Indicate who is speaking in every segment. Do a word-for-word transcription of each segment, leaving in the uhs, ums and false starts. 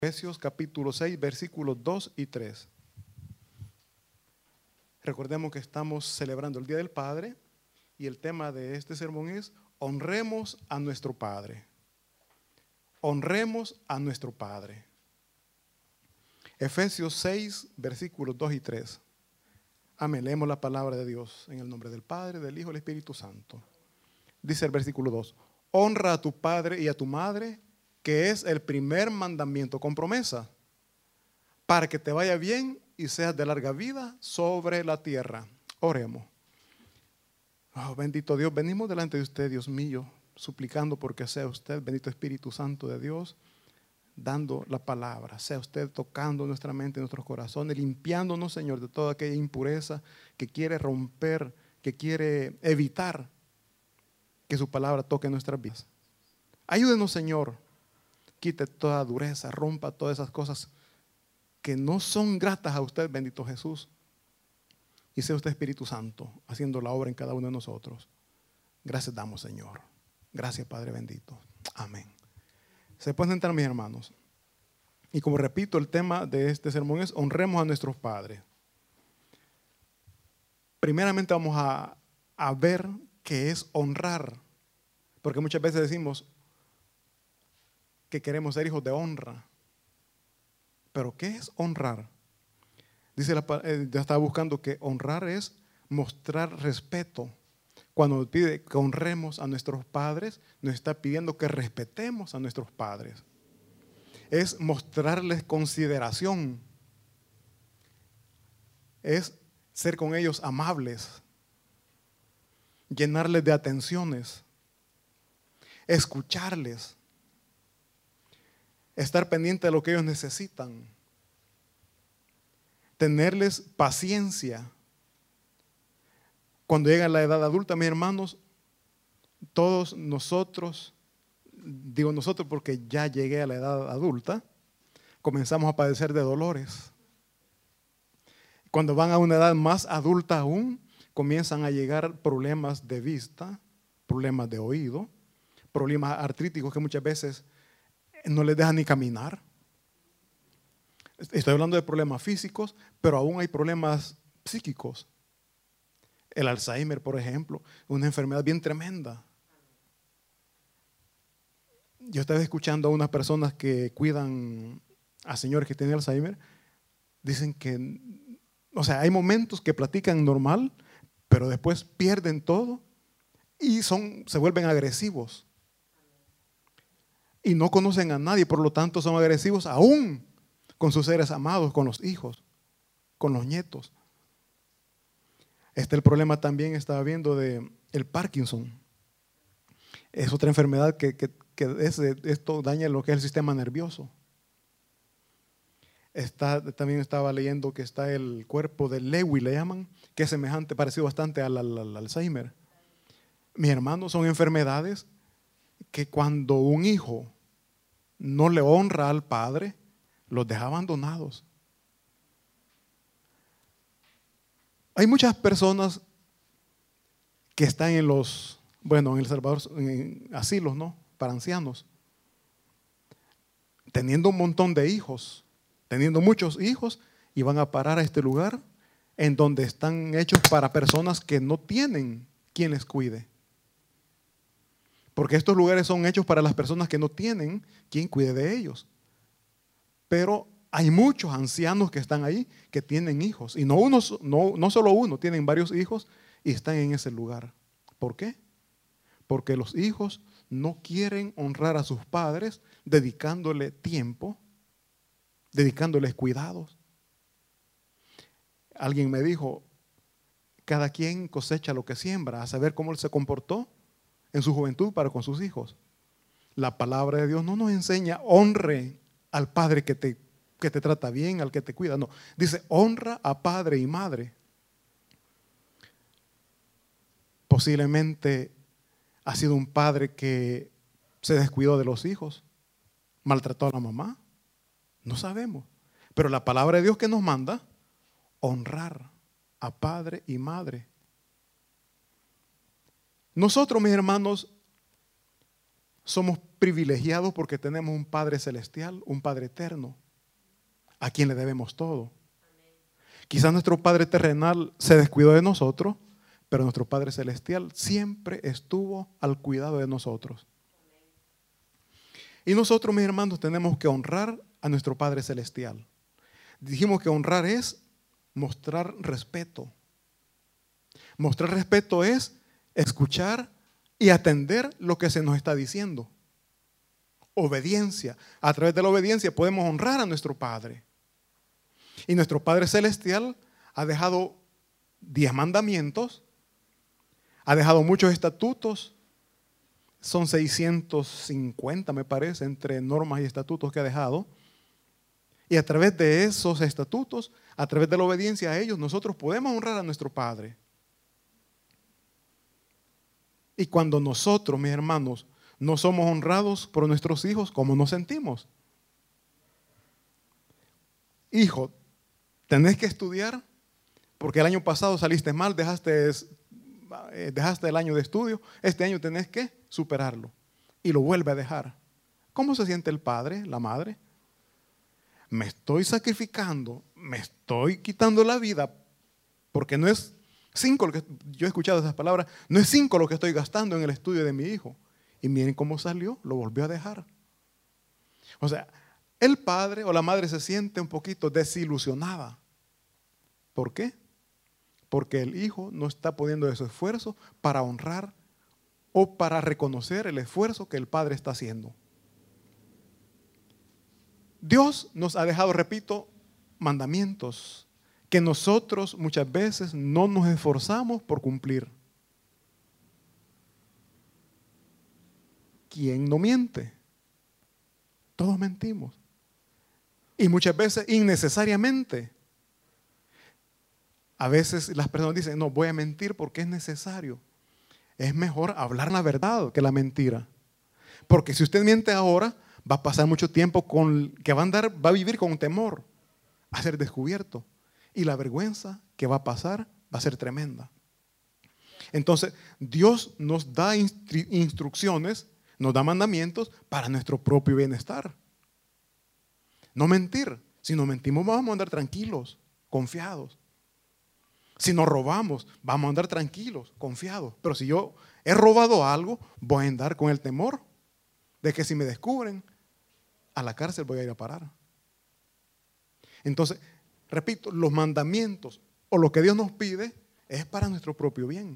Speaker 1: Efesios capítulo seis, versículos dos y tres. Recordemos que estamos celebrando el Día del Padre y el tema de este sermón es: honremos a nuestro Padre. Honremos a nuestro Padre. Efesios seis, versículos dos y tres. Amén. Leemos la palabra de Dios en el nombre del Padre, del Hijo y del Espíritu Santo. Dice el versículo dos: honra a tu padre y a tu madre, que es el primer mandamiento con promesa, para que te vaya bien y seas de larga vida sobre la tierra. Oremos. Oh, bendito Dios, venimos delante de usted, Dios mío, suplicando porque sea usted, bendito Espíritu Santo de Dios, dando la palabra, sea usted tocando nuestra mente, nuestros corazones, limpiándonos, Señor, de toda aquella impureza que quiere romper, que quiere evitar que su palabra toque nuestras vidas. Ayúdenos, Señor, quite toda dureza, rompa todas esas cosas que no son gratas a usted, bendito Jesús. Y sea usted, Espíritu Santo, haciendo la obra en cada uno de nosotros. Gracias damos, Señor. Gracias, Padre bendito. Amén. Se pueden sentar, mis hermanos. Y como repito, el tema de este sermón es: honremos a nuestros padres. Primeramente vamos a, a ver qué es honrar. Porque muchas veces decimos que queremos ser hijos de honra. Pero ¿qué es honrar? Dice, la, eh, ya estaba buscando que honrar es mostrar respeto. Cuando nos pide que honremos a nuestros padres, nos está pidiendo que respetemos a nuestros padres. Es mostrarles consideración. Es ser con ellos amables. Llenarles de atenciones. Escucharles. Estar pendiente de lo que ellos necesitan. Tenerles paciencia. Cuando llega la edad adulta, mis hermanos, todos nosotros, digo nosotros porque ya llegué a la edad adulta, comenzamos a padecer de dolores. Cuando van a una edad más adulta aún, comienzan a llegar problemas de vista, problemas de oído, problemas artríticos que muchas veces no les dejan ni caminar. Estoy hablando de problemas físicos, pero aún hay problemas psíquicos. El Alzheimer, por ejemplo, una enfermedad bien tremenda. Yo estaba escuchando a unas personas que cuidan a señores que tienen Alzheimer. Dicen que, o sea, hay momentos que platican normal, pero después pierden todo y son, se vuelven agresivos. Y no conocen a nadie, por lo tanto son agresivos aún con sus seres amados, con los hijos, con los nietos. Este el problema también estaba viendo de el Parkinson. Es otra enfermedad que, que, que es, esto daña lo que es el sistema nervioso. Está, también estaba leyendo que está el cuerpo de Lewy, le llaman, que es semejante, parecido bastante al, al, al Alzheimer. Mis hermanos, son enfermedades que cuando un hijo no le honra al padre, los deja abandonados. Hay muchas personas que están en los, bueno, en El Salvador, en asilos, ¿no? Para ancianos, teniendo un montón de hijos, teniendo muchos hijos, y van a parar a este lugar en donde están hechos para personas que no tienen quien les cuide. Porque estos lugares son hechos para las personas que no tienen quien cuide de ellos. Pero hay muchos ancianos que están ahí que tienen hijos. Y no, uno, no, no solo uno, tienen varios hijos y están en ese lugar. ¿Por qué? Porque los hijos no quieren honrar a sus padres dedicándole tiempo, dedicándoles cuidados. Alguien me dijo, cada quien cosecha lo que siembra, a saber cómo él se comportó en su juventud para con sus hijos. La palabra de Dios no nos enseña honre al padre que te, que te trata bien, al que te cuida. No, dice honra a padre y madre. Posiblemente ha sido un padre que se descuidó de los hijos, maltrató a la mamá. No sabemos. Pero la palabra de Dios que nos manda, honrar a padre y madre. Nosotros, mis hermanos, somos privilegiados porque tenemos un Padre celestial, un Padre eterno, a quien le debemos todo. Quizás nuestro Padre terrenal se descuidó de nosotros, pero nuestro Padre celestial siempre estuvo al cuidado de nosotros. Y nosotros, mis hermanos, tenemos que honrar a nuestro Padre celestial. Dijimos que honrar es mostrar respeto. Mostrar respeto es escuchar y atender lo que se nos está diciendo. Obediencia. A través de la obediencia podemos honrar a nuestro Padre. Y nuestro Padre celestial ha dejado diez mandamientos, ha dejado muchos estatutos, son seiscientos cincuenta me parece, entre normas y estatutos que ha dejado. Y a través de esos estatutos, a través de la obediencia a ellos, nosotros podemos honrar a nuestro Padre. Y cuando nosotros, mis hermanos, no somos honrados por nuestros hijos, ¿cómo nos sentimos? Hijo, tenés que estudiar porque el año pasado saliste mal, dejaste, dejaste el año de estudio. Este año tenés que superarlo y lo vuelve a dejar. ¿Cómo se siente el padre, la madre? Me estoy sacrificando, me estoy quitando la vida porque no es cinco lo que yo he escuchado esas palabras, no es cinco lo que estoy gastando en el estudio de mi hijo. Y miren cómo salió, lo volvió a dejar. O sea, el padre o la madre se siente un poquito desilusionada. ¿Por qué? Porque el hijo no está poniendo ese esfuerzo para honrar o para reconocer el esfuerzo que el padre está haciendo. Dios nos ha dejado, repito, mandamientos que nosotros muchas veces no nos esforzamos por cumplir. ¿Quién no miente? Todos mentimos. Y muchas veces innecesariamente. A veces las personas dicen, no, voy a mentir porque es necesario. Es mejor hablar la verdad que la mentira. Porque si usted miente ahora, va a pasar mucho tiempo con, que va a andar, va a vivir con temor a ser descubierto. Y la vergüenza que va a pasar va a ser tremenda. Entonces, Dios nos da instru- instrucciones, nos da mandamientos para nuestro propio bienestar. No mentir. Si no mentimos, vamos a andar tranquilos, confiados. Si nos robamos, vamos a andar tranquilos, confiados. Pero si yo he robado algo, voy a andar con el temor de que si me descubren, a la cárcel voy a ir a parar. Entonces, repito, los mandamientos o lo que Dios nos pide es para nuestro propio bien.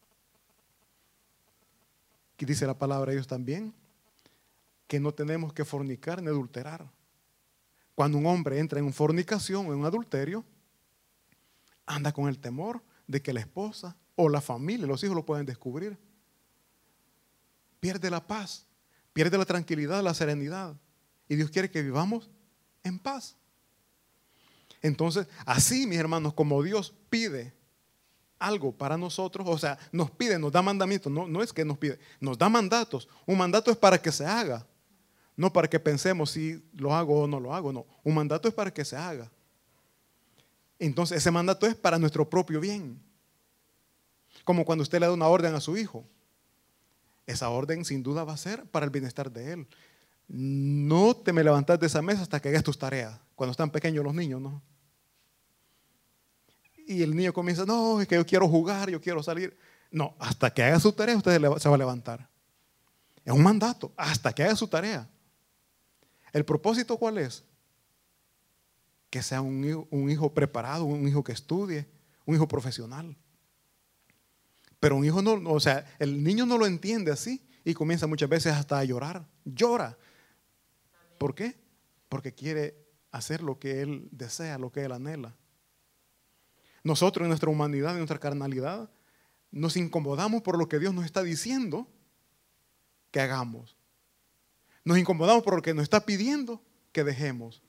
Speaker 1: Aquí dice la palabra de Dios también, que no tenemos que fornicar ni adulterar. Cuando un hombre entra en fornicación o en un adulterio, anda con el temor de que la esposa o la familia, los hijos lo pueden descubrir. Pierde la paz, pierde la tranquilidad, la serenidad. Y Dios quiere que vivamos en paz. Entonces, así, mis hermanos, como Dios pide algo para nosotros, o sea, nos pide, nos da mandamientos, no, no es que nos pide, nos da mandatos. Un mandato es para que se haga, no para que pensemos si lo hago o no lo hago, no. Un mandato es para que se haga. Entonces, ese mandato es para nuestro propio bien. Como cuando usted le da una orden a su hijo. Esa orden sin duda va a ser para el bienestar de él. No te me levantas de esa mesa hasta que hagas tus tareas. Cuando están pequeños los niños, ¿no? Y el niño comienza, no, es que yo quiero jugar, yo quiero salir. No, hasta que haga su tarea usted se va a levantar. Es un mandato, hasta que haga su tarea. ¿El propósito cuál es? Que sea un hijo, un hijo preparado, un hijo que estudie, un hijo profesional. Pero un hijo no, o sea, el niño no lo entiende así y comienza muchas veces hasta a llorar. Llora. ¿Por qué? Porque quiere hacer lo que él desea, lo que él anhela. Nosotros en nuestra humanidad, en nuestra carnalidad, nos incomodamos por lo que Dios nos está diciendo que hagamos. Nos incomodamos por lo que nos está pidiendo que dejemos.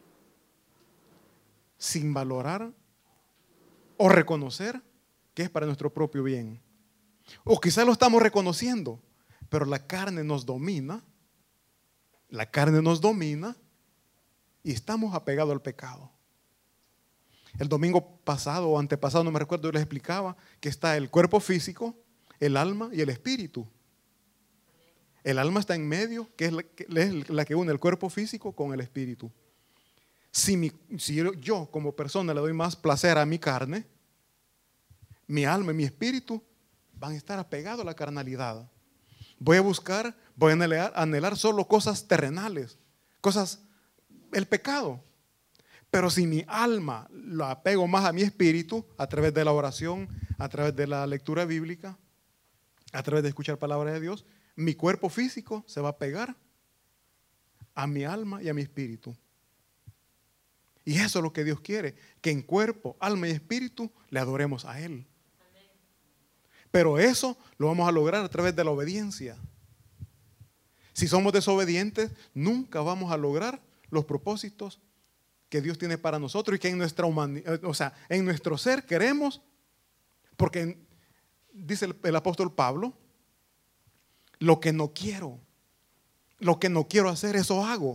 Speaker 1: Sin valorar o reconocer que es para nuestro propio bien. O quizás lo estamos reconociendo, pero la carne nos domina, la carne nos domina y estamos apegados al pecado. El domingo pasado o antepasado, no me recuerdo, yo les explicaba que está el cuerpo físico, el alma y el espíritu. El alma está en medio, que es la que, es la que une el cuerpo físico con el espíritu. Si, mi, si yo, yo como persona le doy más placer a mi carne, mi alma y mi espíritu van a estar apegados a la carnalidad. Voy a buscar, voy a anhelar, anhelar solo cosas terrenales, cosas, el pecado. Pero si mi alma lo apego más a mi espíritu, a través de la oración, a través de la lectura bíblica, a través de escuchar palabra de Dios, mi cuerpo físico se va a pegar a mi alma y a mi espíritu. Y eso es lo que Dios quiere, que en cuerpo, alma y espíritu le adoremos a Él. Pero eso lo vamos a lograr a través de la obediencia. Si somos desobedientes, nunca vamos a lograr los propósitos que Dios tiene para nosotros y que en nuestra humanidad, o sea, en nuestro ser queremos, porque dice el, el apóstol Pablo, lo que no quiero, lo que no quiero hacer, eso hago.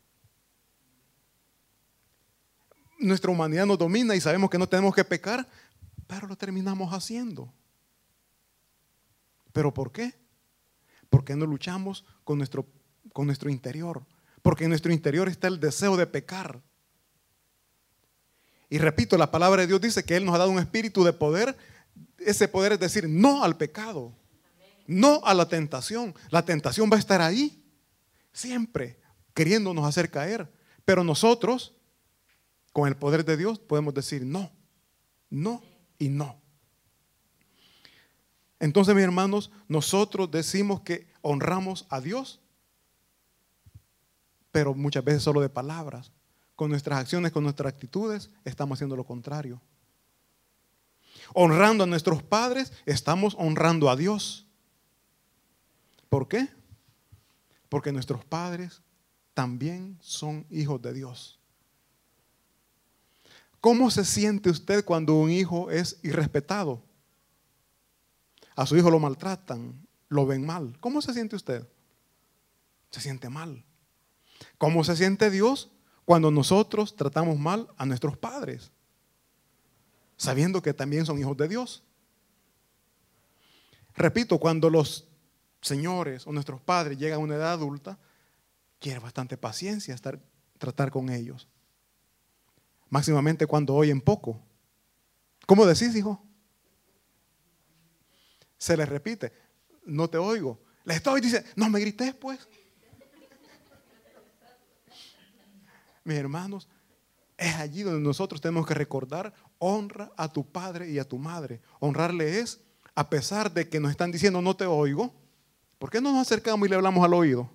Speaker 1: Nuestra humanidad nos domina y sabemos que no tenemos que pecar, pero lo terminamos haciendo. ¿Pero por qué? Porque no luchamos con nuestro, con nuestro interior. Porque en nuestro interior está el deseo de pecar. Y repito, la palabra de Dios dice que Él nos ha dado un espíritu de poder. Ese poder es decir, no al pecado, no a la tentación. La tentación va a estar ahí, siempre, queriéndonos hacer caer. Pero nosotros, con el poder de Dios, podemos decir no, no y no. Entonces, mis hermanos, nosotros decimos que honramos a Dios, pero muchas veces solo de palabras. Con nuestras acciones, con nuestras actitudes, estamos haciendo lo contrario. Honrando a nuestros padres, estamos honrando a Dios. ¿Por qué? Porque nuestros padres también son hijos de Dios. ¿Cómo se siente usted cuando un hijo es irrespetado? A su hijo lo maltratan, lo ven mal. ¿Cómo se siente usted? Se siente mal. ¿Cómo se siente Dios cuando nosotros tratamos mal a nuestros padres? Sabiendo que también son hijos de Dios. Repito, cuando los señores o nuestros padres llegan a una edad adulta, quiere bastante paciencia estar, tratar con ellos. Máximamente cuando oyen poco. ¿Cómo decís, hijo? Se les repite, no te oigo. Les estoy diciendo, no me grites pues. Mis hermanos, es allí donde nosotros tenemos que recordar, honra a tu padre y a tu madre. Honrarle es, a pesar de que nos están diciendo no te oigo, ¿por qué no nos acercamos y le hablamos al oído?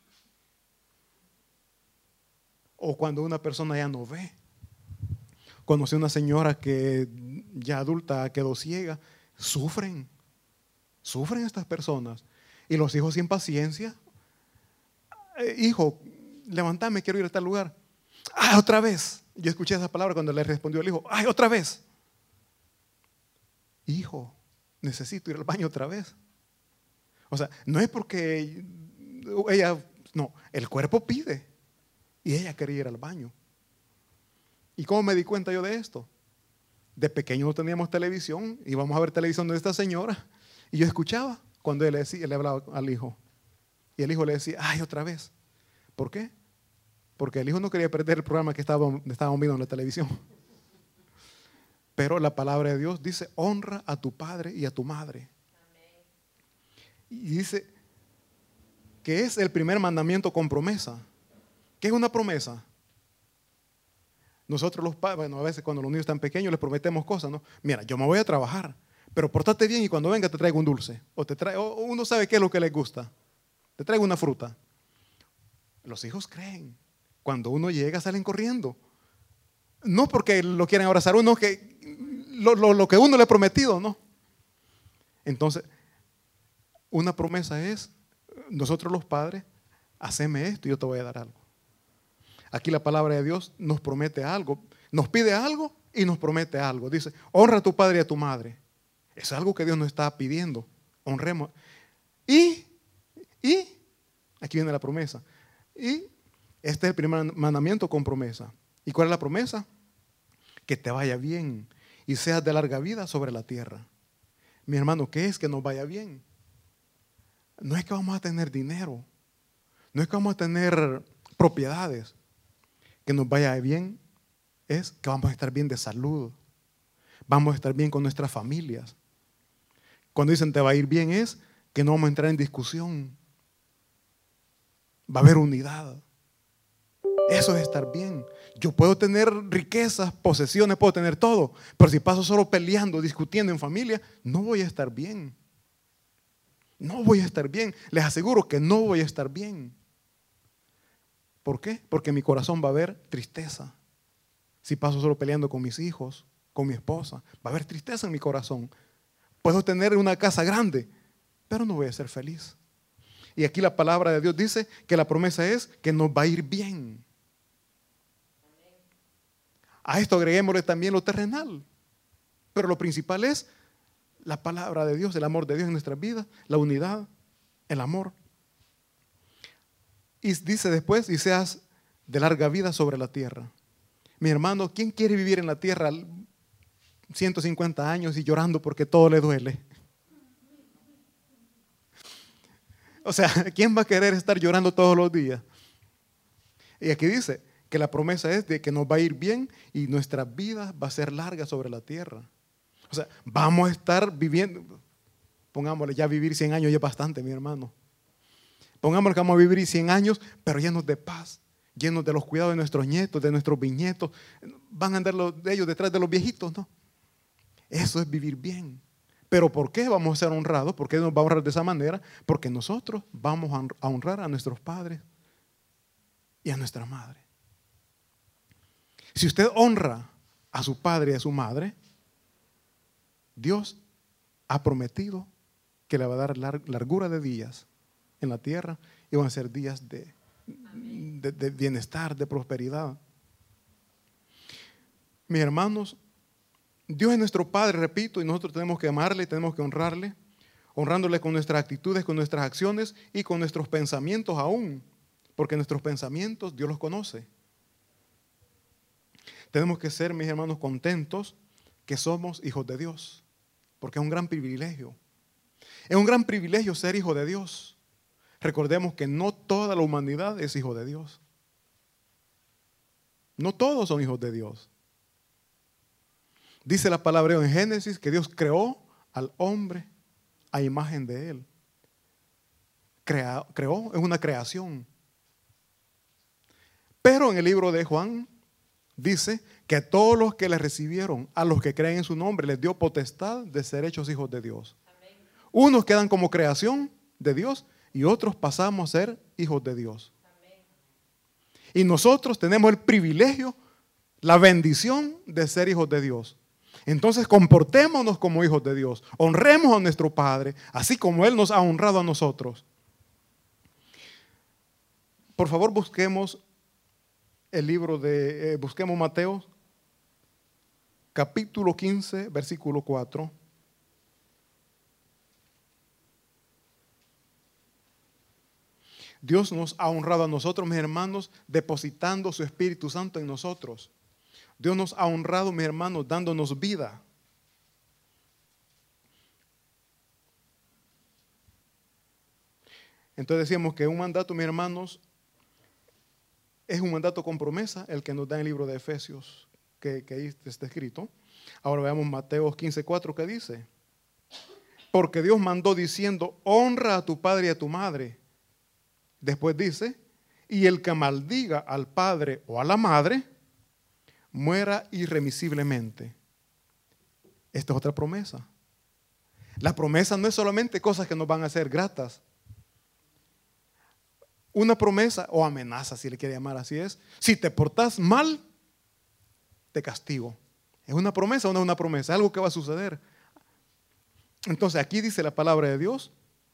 Speaker 1: O cuando una persona ya no ve. Conocí una señora que ya adulta quedó ciega, sufren. Sufren estas personas. Y los hijos sin paciencia. Eh, hijo, levántame, quiero ir a tal lugar. ¡Ay, otra vez! Yo escuché esa palabra cuando le respondió el hijo. ¡Ay, otra vez! Hijo, necesito ir al baño otra vez. O sea, no es porque ella, no, el cuerpo pide. Y ella quería ir al baño. ¿Y cómo me di cuenta yo de esto? De pequeño no teníamos televisión, íbamos a ver televisión de esta señora. Y yo escuchaba cuando él le, decía, él le hablaba al hijo. Y el hijo le decía, ay, otra vez. ¿Por qué? Porque el hijo no quería perder el programa que estábamos estaba viendo en la televisión. Pero la palabra de Dios dice, honra a tu padre y a tu madre. Amén. Y dice que es el primer mandamiento con promesa. ¿Qué es una promesa? Nosotros los padres, bueno, a veces cuando los niños están pequeños les prometemos cosas, ¿no? Mira, yo me voy a trabajar, pero pórtate bien y cuando venga te traigo un dulce. O, te trae, o uno sabe qué es lo que les gusta. Te traigo una fruta. Los hijos creen. Cuando uno llega salen corriendo. No porque lo quieren abrazar uno, que lo, lo, lo que uno le ha prometido, ¿no? Entonces, una promesa es, nosotros los padres, haceme esto y yo te voy a dar algo. Aquí la palabra de Dios nos promete algo, nos pide algo y nos promete algo. Dice, honra a tu padre y a tu madre. Es algo que Dios nos está pidiendo. Honremos. Y, y, aquí viene la promesa. Y este es el primer mandamiento con promesa. ¿Y cuál es la promesa? Que te vaya bien y seas de larga vida sobre la tierra. Mi hermano, ¿qué es que nos vaya bien? no es que vamos a tener dinero, no es que vamos a tener propiedades, que nos vaya bien, es que vamos a estar bien de salud, vamos a estar bien con nuestras familias. Cuando dicen te va a ir bien es que no vamos a entrar en discusión, va a haber unidad. Eso es estar bien. Yo puedo tener riquezas, posesiones, puedo tener todo, pero si paso solo peleando, discutiendo en familia, no voy a estar bien. No voy a estar bien. Les aseguro que no voy a estar bien. ¿Por qué? Porque en mi corazón va a haber tristeza. Si paso solo peleando con mis hijos, con mi esposa, va a haber tristeza en mi corazón. Puedo tener una casa grande, pero no voy a ser feliz. Y aquí la palabra de Dios dice que la promesa es que nos va a ir bien. A esto agreguémosle también lo terrenal. Pero lo principal es la palabra de Dios, el amor de Dios en nuestras vidas, la unidad, el amor. Y dice después, y seas de larga vida sobre la tierra. Mi hermano, ¿quién quiere vivir en la tierra ciento cincuenta años y llorando porque todo le duele? O sea, ¿quién va a querer estar llorando todos los días? Y aquí dice que la promesa es de que nos va a ir bien y nuestra vida va a ser larga sobre la tierra. O sea, vamos a estar viviendo, pongámosle, ya vivir cien años ya es bastante, mi hermano. Pongámosle que vamos a vivir cien años, pero llenos de paz, llenos de los cuidados de nuestros nietos, de nuestros bisnietos. Van a andar los, de ellos detrás de los viejitos, ¿no? Eso es vivir bien. ¿Pero por qué vamos a ser honrados? ¿Por qué nos va a honrar de esa manera? Porque nosotros vamos a honrar a nuestros padres y a nuestra madre. Si usted honra a su padre y a su madre, Dios ha prometido que le va a dar largura de días en la tierra y van a ser días de, de, de bienestar, de prosperidad. Mis hermanos, Dios es nuestro Padre, repito, y nosotros tenemos que amarle, tenemos que honrarle, honrándole con nuestras actitudes, con nuestras acciones y con nuestros pensamientos aún, porque nuestros pensamientos Dios los conoce. Tenemos que ser, mis hermanos, contentos que somos hijos de Dios, porque es un gran privilegio. Es un gran privilegio ser hijo de Dios. Recordemos que no toda la humanidad es hijo de Dios. No todos son hijos de Dios. Dice la palabra en Génesis que Dios creó al hombre a imagen de él. Crea, creó, es una creación. Pero en el libro de Juan dice que a todos los que le recibieron, a los que creen en su nombre, les dio potestad de ser hechos hijos de Dios. Amén. Unos quedan como creación de Dios y otros pasamos a ser hijos de Dios. Amén. Y nosotros tenemos el privilegio, la bendición de ser hijos de Dios. Entonces comportémonos como hijos de Dios, honremos a nuestro Padre, así como Él nos ha honrado a nosotros. Por favor, busquemos el libro de, eh, busquemos Mateo, capítulo quince, versículo cuatro. Dios nos ha honrado a nosotros, mis hermanos, depositando su Espíritu Santo en nosotros. Dios nos ha honrado, mis hermanos, dándonos vida. Entonces decíamos que un mandato, mis hermanos, es un mandato con promesa, el que nos da en el libro de Efesios, que, que ahí está escrito. Ahora veamos Mateo quince cuatro, que dice: porque Dios mandó diciendo, honra a tu padre y a tu madre. Después dice, y el que maldiga al padre o a la madre, muera irremisiblemente. Esta es otra promesa. La promesa no es solamente cosas que nos van a hacer gratas. Una promesa o amenaza, si le quiere llamar así, es: si te portas mal, te castigo. ¿Es una promesa o no es una promesa? Algo que va a suceder. Entonces aquí dice la palabra de Dios.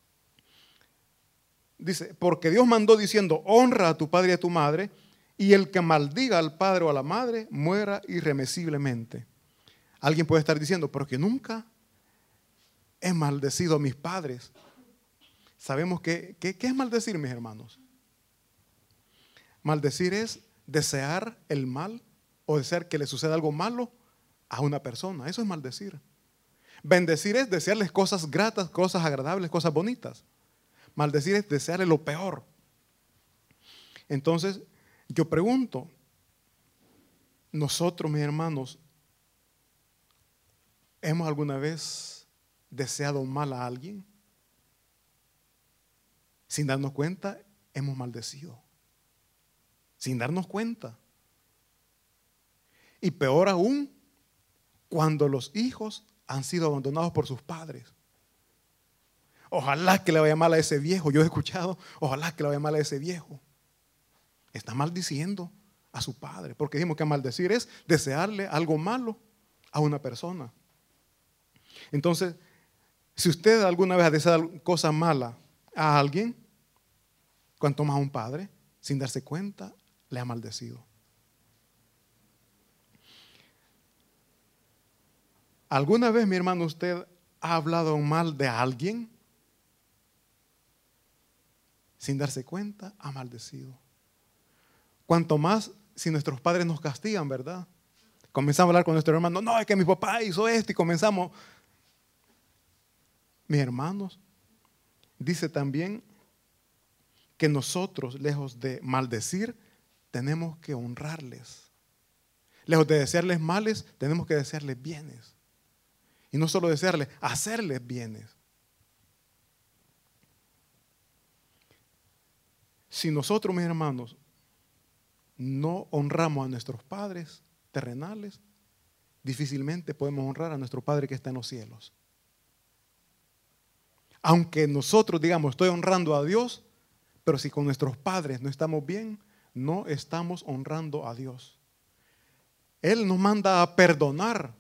Speaker 1: Dice, porque Dios mandó diciendo, honra a tu padre y a tu madre, y el que maldiga al padre o a la madre, muera irremisiblemente. Alguien puede estar diciendo, pero que nunca he maldecido a mis padres. Sabemos que, que, ¿qué es maldecir, mis hermanos? Maldecir es desear el mal o desear que le suceda algo malo a una persona. Eso es maldecir. Bendecir es desearles cosas gratas, cosas agradables, cosas bonitas. Maldecir es desearle lo peor. Entonces, yo pregunto, nosotros, mis hermanos, ¿hemos alguna vez deseado mal a alguien? Sin darnos cuenta, hemos maldecido. Sin darnos cuenta. Y peor aún, cuando los hijos han sido abandonados por sus padres. Ojalá que le vaya mal a ese viejo. Yo he escuchado, ojalá que le vaya mal a ese viejo. Está maldiciendo a su padre. Porque dijimos que maldecir es desearle algo malo a una persona. Entonces, si usted alguna vez ha deseado cosas malas a alguien, cuanto más a un padre, sin darse cuenta, le ha maldecido. ¿Alguna vez, mi hermano, usted ha hablado mal de alguien? Sin darse cuenta, ha maldecido. Cuanto más si nuestros padres nos castigan, ¿verdad? Comenzamos a hablar con nuestro hermano, no, es que mi papá hizo esto y comenzamos. Mis hermanos, dice también que nosotros, lejos de maldecir, tenemos que honrarles. Lejos de desearles males, tenemos que desearles bienes. Y no solo desearles, hacerles bienes. Si nosotros, mis hermanos, no honramos a nuestros padres terrenales, difícilmente podemos honrar a nuestro Padre que está en los cielos. Aunque nosotros digamos, estoy honrando a Dios, pero si con nuestros padres no estamos bien, no estamos honrando a Dios. Él nos manda a perdonar.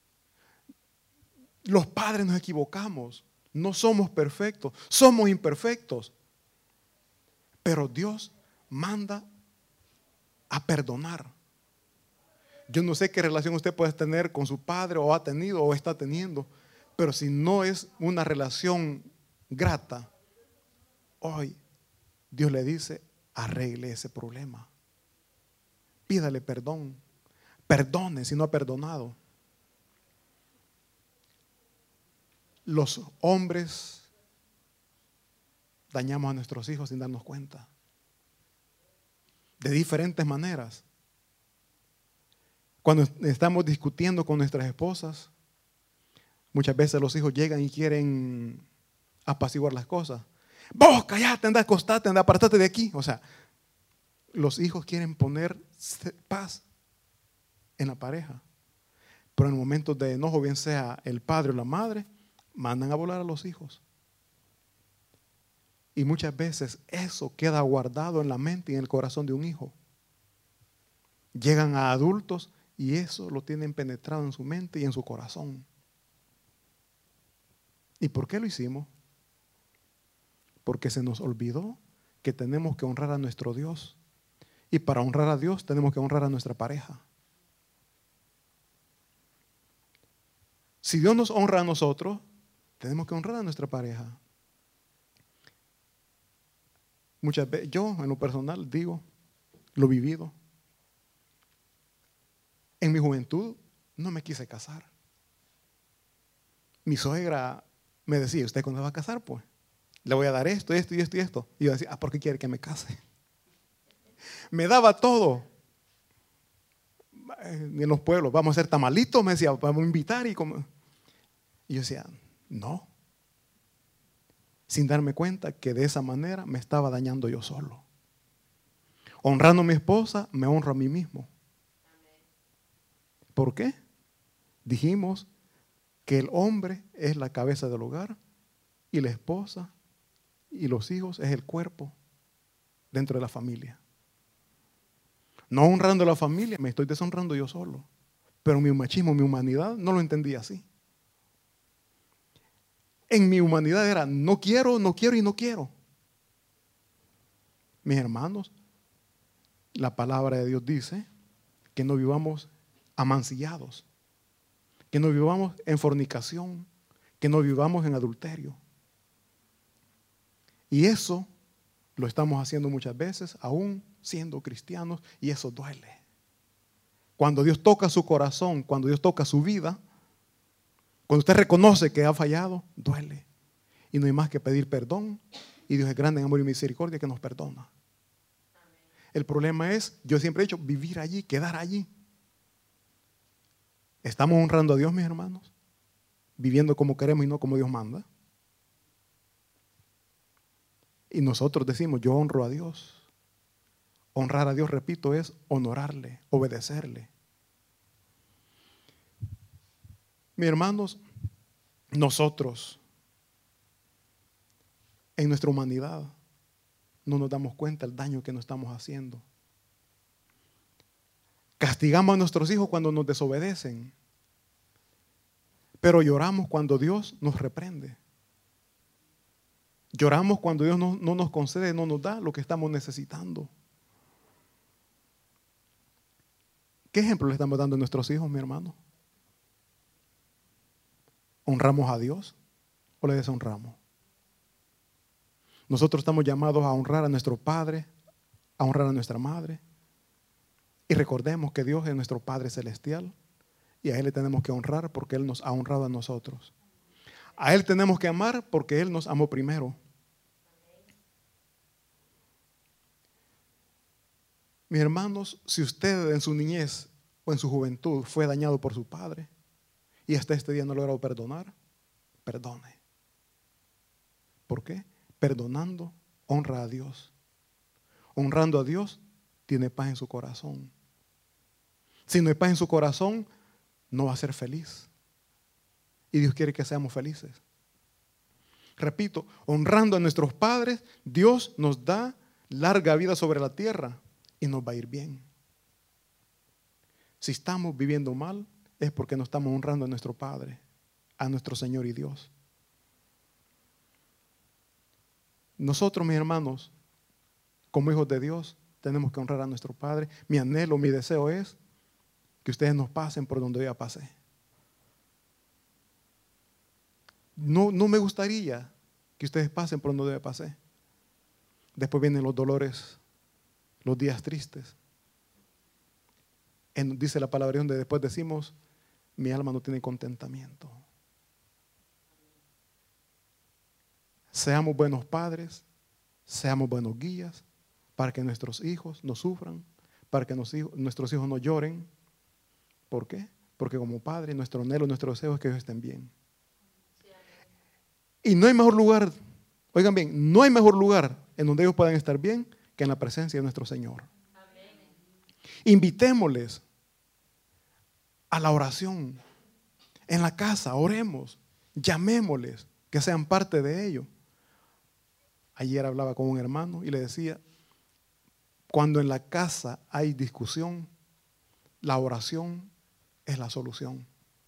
Speaker 1: Los padres nos equivocamos, no somos perfectos, somos imperfectos. Pero Dios manda a perdonar. Yo no sé qué relación usted puede tener con su padre o ha tenido o está teniendo, pero si no es una relación grata, hoy Dios le dice, arregle ese problema. Pídale perdón. Perdone si no ha perdonado. Los hombres dañamos a nuestros hijos sin darnos cuenta. De diferentes maneras. Cuando estamos discutiendo con nuestras esposas, muchas veces los hijos llegan y quieren apaciguar las cosas. Vos callate, anda, acostate, anda, apartate de aquí. O sea, los hijos quieren poner paz en la pareja. Pero en momentos de enojo, bien sea el padre o la madre, mandan a volar a los hijos. Y muchas veces eso queda guardado en la mente y en el corazón de un hijo. Llegan a adultos y eso lo tienen penetrado en su mente y en su corazón. ¿Y por qué lo hicimos? Porque se nos olvidó que tenemos que honrar a nuestro Dios. Y para honrar a Dios tenemos que honrar a nuestra pareja. Si Dios nos honra a nosotros, tenemos que honrar a nuestra pareja. Muchas veces, yo en lo personal digo, lo vivido. En mi juventud no me quise casar. Mi suegra me decía, ¿usted cuándo va a casar? Pues le voy a dar esto, esto y esto y esto. Y yo decía, ah, ¿por qué quiere que me case? Me daba todo. En los pueblos, vamos a hacer tamalitos, me decía, vamos a invitar. Y, como... y yo decía, no. Sin darme cuenta que de esa manera me estaba dañando yo solo. Honrando a mi esposa, me honro a mí mismo. ¿Por qué? Dijimos que el hombre es la cabeza del hogar y la esposa y los hijos es el cuerpo dentro de la familia. No honrando a la familia, me estoy deshonrando yo solo. Pero mi machismo, mi humanidad, no lo entendía así. En mi humanidad era no quiero, no quiero y no quiero. Mis hermanos, la palabra de Dios dice que no vivamos amancillados, que no vivamos en fornicación, que no vivamos en adulterio. Y eso lo estamos haciendo muchas veces, aún siendo cristianos, y eso duele. Cuando Dios toca su corazón, cuando Dios toca su vida, cuando usted reconoce que ha fallado, duele. Y no hay más que pedir perdón Y Dios es grande en amor y misericordia que nos perdona. El problema es, yo siempre he dicho, vivir allí, quedar allí. ¿Estamos honrando a Dios, mis hermanos? Viviendo como queremos y no como Dios manda. Y nosotros decimos, yo honro a Dios. Honrar a Dios, repito, es honorarle, obedecerle. Mis hermanos, nosotros, en nuestra humanidad, no nos damos cuenta del daño que nos estamos haciendo. Castigamos a nuestros hijos cuando nos desobedecen, pero lloramos cuando Dios nos reprende. Lloramos cuando Dios no, no nos concede, no nos da lo que estamos necesitando. ¿Qué ejemplo le estamos dando a nuestros hijos, mi hermano? ¿Honramos a Dios o le deshonramos? Nosotros estamos llamados a honrar a nuestro padre, a honrar a nuestra madre. Y recordemos que Dios es nuestro Padre Celestial y a Él le tenemos que honrar porque Él nos ha honrado a nosotros. A Él tenemos que amar porque Él nos amó primero. Mis hermanos, si usted en su niñez o en su juventud fue dañado por su padre y hasta este día no ha logrado perdonar, perdone. ¿Por qué? Perdonando, honra a Dios. Honrando a Dios, tiene paz en su corazón. Si no hay paz en su corazón, no va a ser feliz. Y Dios quiere que seamos felices. Repito, honrando a nuestros padres, Dios nos da larga vida sobre la tierra y nos va a ir bien. Si estamos viviendo mal, es porque no estamos honrando a nuestro Padre, a nuestro Señor y Dios. Nosotros, mis hermanos, como hijos de Dios, tenemos que honrar a nuestro Padre. Mi anhelo, mi deseo es que ustedes nos pasen por donde yo ya pasé. No, no me gustaría que ustedes pasen por donde yo ya pasé. Después vienen los dolores, los días tristes. En, dice la palabra donde después decimos, mi alma no tiene contentamiento. Seamos buenos padres, seamos buenos guías, para que nuestros hijos no sufran, para que nos, nuestros hijos no lloren. ¿Por qué? Porque como padre, nuestro anhelo, nuestro deseo es que ellos estén bien. Y no hay mejor lugar, oigan bien, no hay mejor lugar en donde ellos puedan estar bien que en la presencia de nuestro Señor. Amén. Invitémosles a la oración. En la casa, oremos, llamémosles, que sean parte de ello. Ayer hablaba con un hermano y le decía, cuando en la casa hay discusión, la oración es la solución.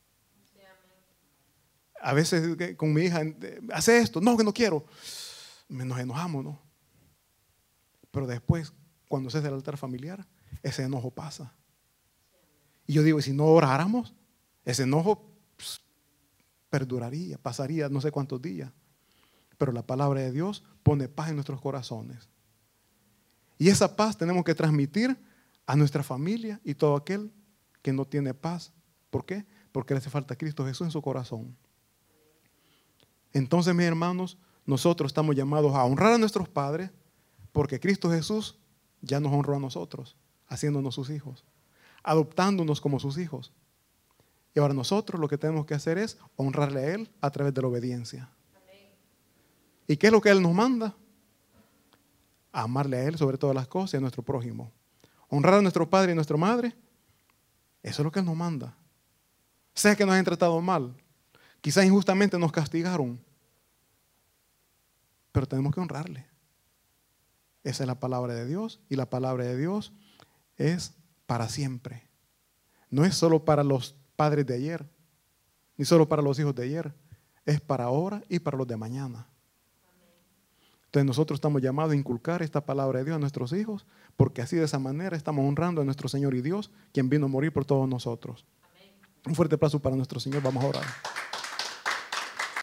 Speaker 1: A veces con mi hija, hace esto, no, que no quiero. Nos enojamos, ¿no? Pero después, cuando se hace el altar familiar, ese enojo pasa. Y yo digo, si no oráramos, ese enojo pues, perduraría, pasaría no sé cuántos días. Pero la palabra de Dios pone paz en nuestros corazones. Y esa paz tenemos que transmitir a nuestra familia y todo aquel que no tiene paz. ¿Por qué? Porque le hace falta a Cristo Jesús en su corazón. Entonces, mis hermanos, nosotros estamos llamados a honrar a nuestros padres porque Cristo Jesús ya nos honró a nosotros, haciéndonos sus hijos, adoptándonos como sus hijos. Y ahora nosotros lo que tenemos que hacer es honrarle a Él a través de la obediencia. ¿Y qué es lo que Él nos manda? A amarle a Él sobre todas las cosas y a nuestro prójimo. Honrar a nuestro padre y a nuestra madre, eso es lo que Él nos manda. Sea que nos hayan tratado mal, quizás injustamente nos castigaron, pero tenemos que honrarle. Esa es la palabra de Dios y la palabra de Dios es para siempre. No es solo para los padres de ayer, ni solo para los hijos de ayer, es para ahora y para los de mañana. Entonces nosotros estamos llamados a inculcar esta palabra de Dios a nuestros hijos, porque así de esa manera estamos honrando a nuestro Señor y Dios, quien vino a morir por todos nosotros. Amén. Un fuerte aplauso para nuestro Señor, vamos a orar.